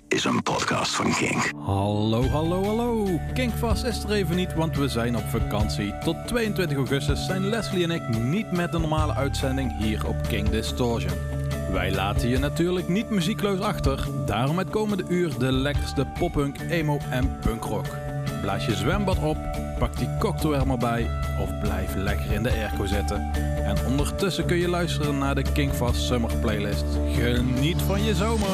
is een podcast van Kink. Hallo. Kinkvast is er even niet, want we zijn op vakantie. Tot 22 augustus zijn Leslie en ik niet met de normale uitzending hier op Kink Distortion. Wij laten je natuurlijk niet muziekloos achter. Daarom het komende uur de lekkerste poppunk, emo en punkrock. Blaas je zwembad op, pak die cocktail er maar bij of blijf lekker in de airco zitten. En ondertussen kun je luisteren naar de Kinkvast Summer Playlist. Geniet van je zomer!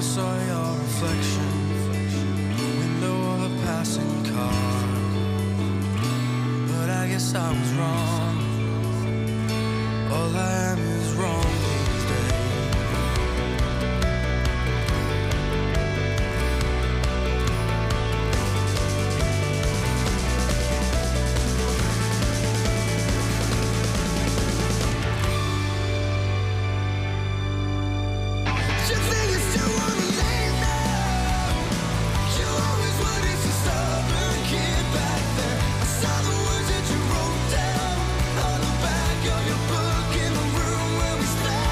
saw your reflection, window of a passing car. But I guess I was wrong. All I am is wrong these days. You think it's too late now? You always wanted to stubborn kid back there. I saw the words that you wrote down on the back of your book in the room where we slept.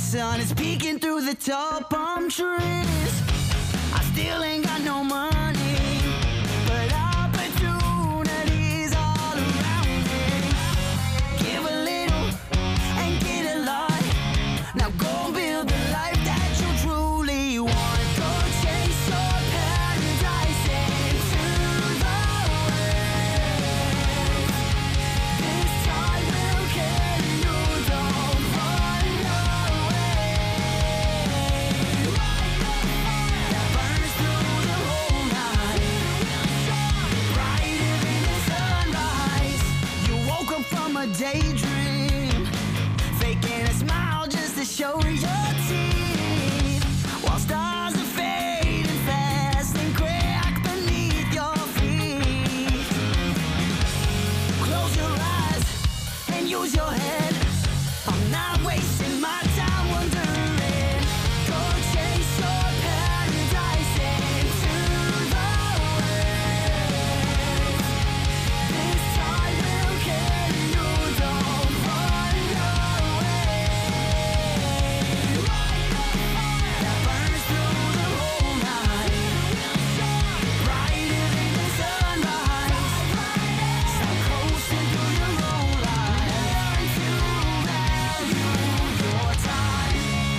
sun is peeking through the tall palm trees. I still ain't got no money, but opportunities all around me. Give a little and get a lot. Now go build the life that you truly want. Go chase your paradise into the waves. This time will carry you, don't run away. That burns through the whole night, brighter than the sunrise. You woke up from a daydream, faking a smile just to show your teeth, while stars are fading fast and crack beneath your feet. Close your eyes and use your head. I'm not wasting my time wondering. Go chase your paradise into the waves. This time will carry you, don't run away. That burns through the whole night, brighter than the sunrise. Stop coasting through your own life. Learn to value your time.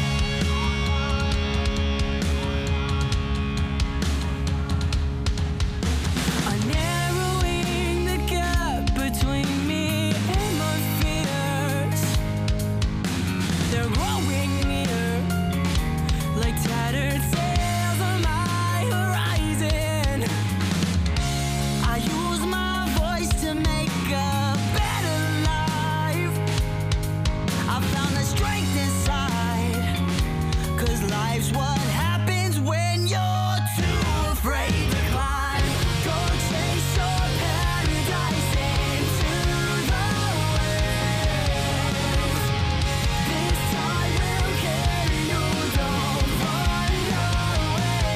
Narrowing the gap between me and my fears. They're growing near, like tattered sails on my horizon. I use my voice to make a better life. I found the strength inside, 'cause life's what happens when you're too afraid to climb. Go chase your paradise into the waves. This time will carry you, don't run away.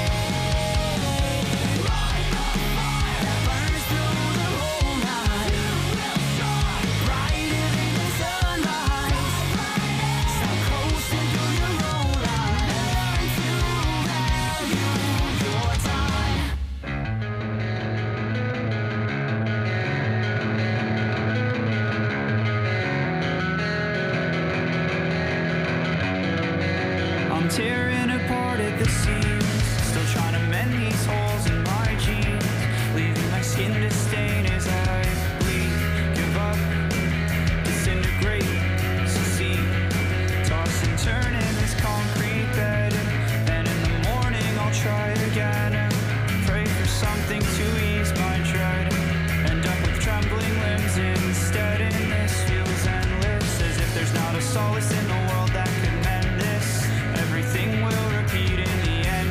That burns through the whole night, brighter than the sunrise. Stop coasting through your own life. Learn to value your time. I'm tearing apart at the seams, still trying to mend these holes in my jeans, leaving my skin to stain as I bleed. Give up, disintegrate, succeed, toss and turn in this concrete bed, and in the morning I'll try again and pray for something to ease my dread. End up with trembling limbs instead, and this feels endless, as if there's not a solace in the world that could mend this. Everything will repeat in the end.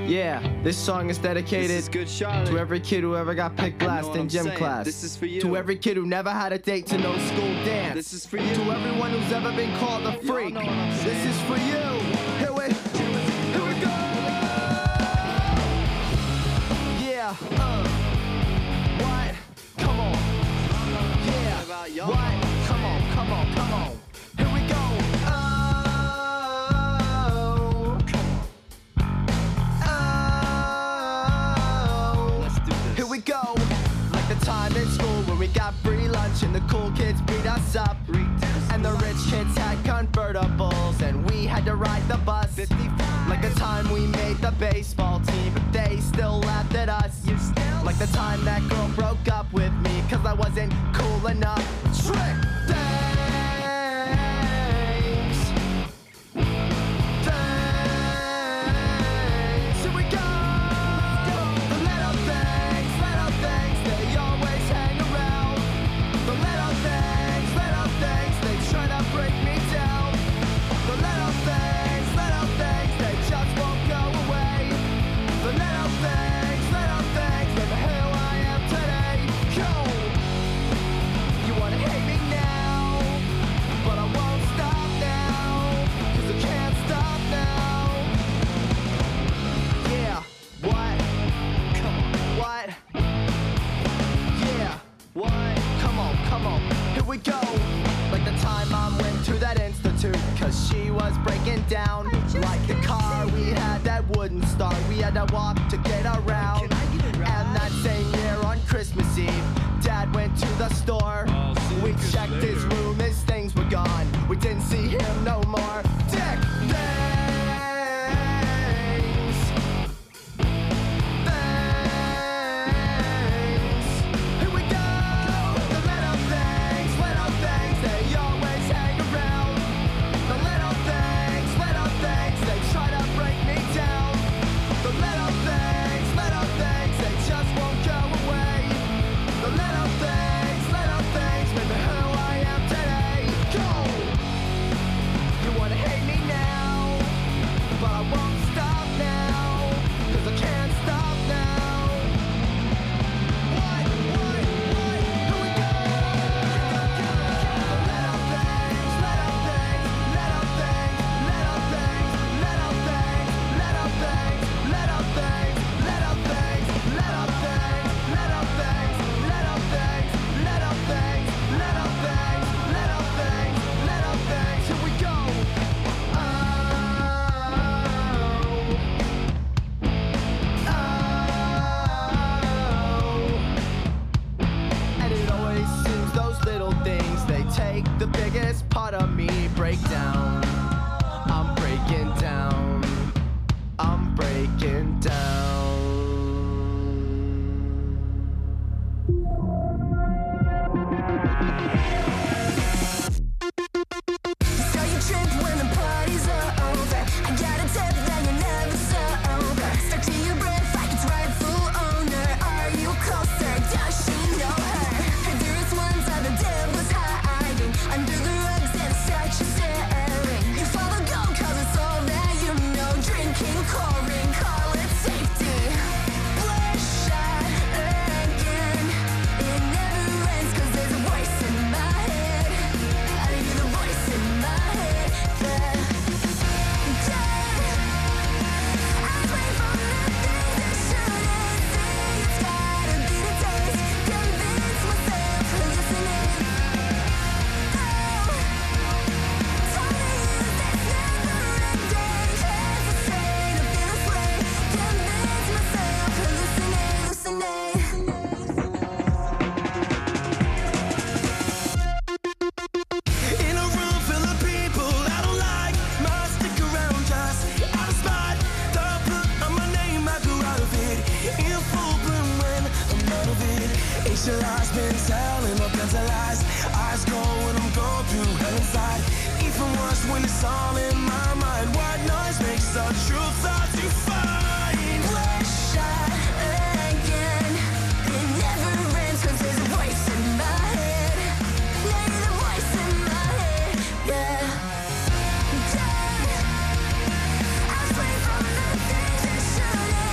Yeah, this song is dedicated This is good, Charlotte. to every kid who ever got picked You know last what in I'm gym saying. class. This is for you. To every kid who never had a date to no school dance. This is for you. To everyone who's ever been called a freak. know what I'm This saying. is for you. Here we go. Yeah. What? Come on. Yeah. What about y'all? What? Come on. Here we go. Oh. Let's do this. Here we go. Like the time in school when we got free lunch and the cool kids beat us up. And the rich kids had convertibles and we had to ride the bus. Like the time we made the baseball team but they still laughed at us. Like the time that girl broke up with me cause I wasn't cool enough. Trick! Thanks! Thanks! Here we go! The little things, they always hang around. The little things, they try to break me down. The little things, they just won't go away. The little things, baby, who I am today. Go! You wanna hate me now, but I won't stop now, cause I can't stop now. Yeah, what? Come on, what? Yeah, what? Come on, here we go. Like the time Mom went to that institute, cause she was breaking down. Like the car we had that wouldn't start, we had to walk to get around. And that same year on Christmas Eve, Dad went to the store. We checked his room, his things were gone. We didn't see him no more. Dick, thanks. Thanks. Here we go. The little things, they always hang around. The little things, they try to break me down. The little things, they just won't go away. The little things, baby, who I am today. Go! You wanna hate me now, but I won't stop now, cause I can't stop now. What? Here we go! Little things, here we go. And it always seems those little things, they take the biggest part of me, break down. I'm breaking down. I'm breaking down. So you trip when the party's over. I got a tip that you're never sober. Stuck to your breath like its rightful owner. Are you closer? Does she know her? Her dearest ones are the devil's hiding under the rugs and such a staring. You follow go 'cause it's all that you know. Drinking, pouring, call it safety. Bloodshot again. It never ends 'cause there's a voice in my head. I hear the voice in my head. Dead. I pray for nothing that shouldn't see. It's gotta be the taste. Convince myself, hallucinate. Told me that's never ending. Can't sustain a feel this way. Convince myself, hallucinate, hallucinate. In a room full of people I don't like, might stick around just out of spot. Don't put on my name, I grew out of it. In full bloom when I'm out of it. Ancient lies been telling all kinds of lies. Eyes go when I'm going through hell inside. Even worse when it's all in my mind. White noise makes the truth hard to find. Bloodshot again. It never ends 'cause there's a voice in my head. Yeah, you're the voice in my head. Yeah. Dead. I pray for the things that shouldn't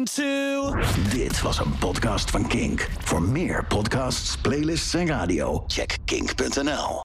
to. Dit was een podcast van Kink. Voor meer podcasts, playlists en radio, check kink.nl.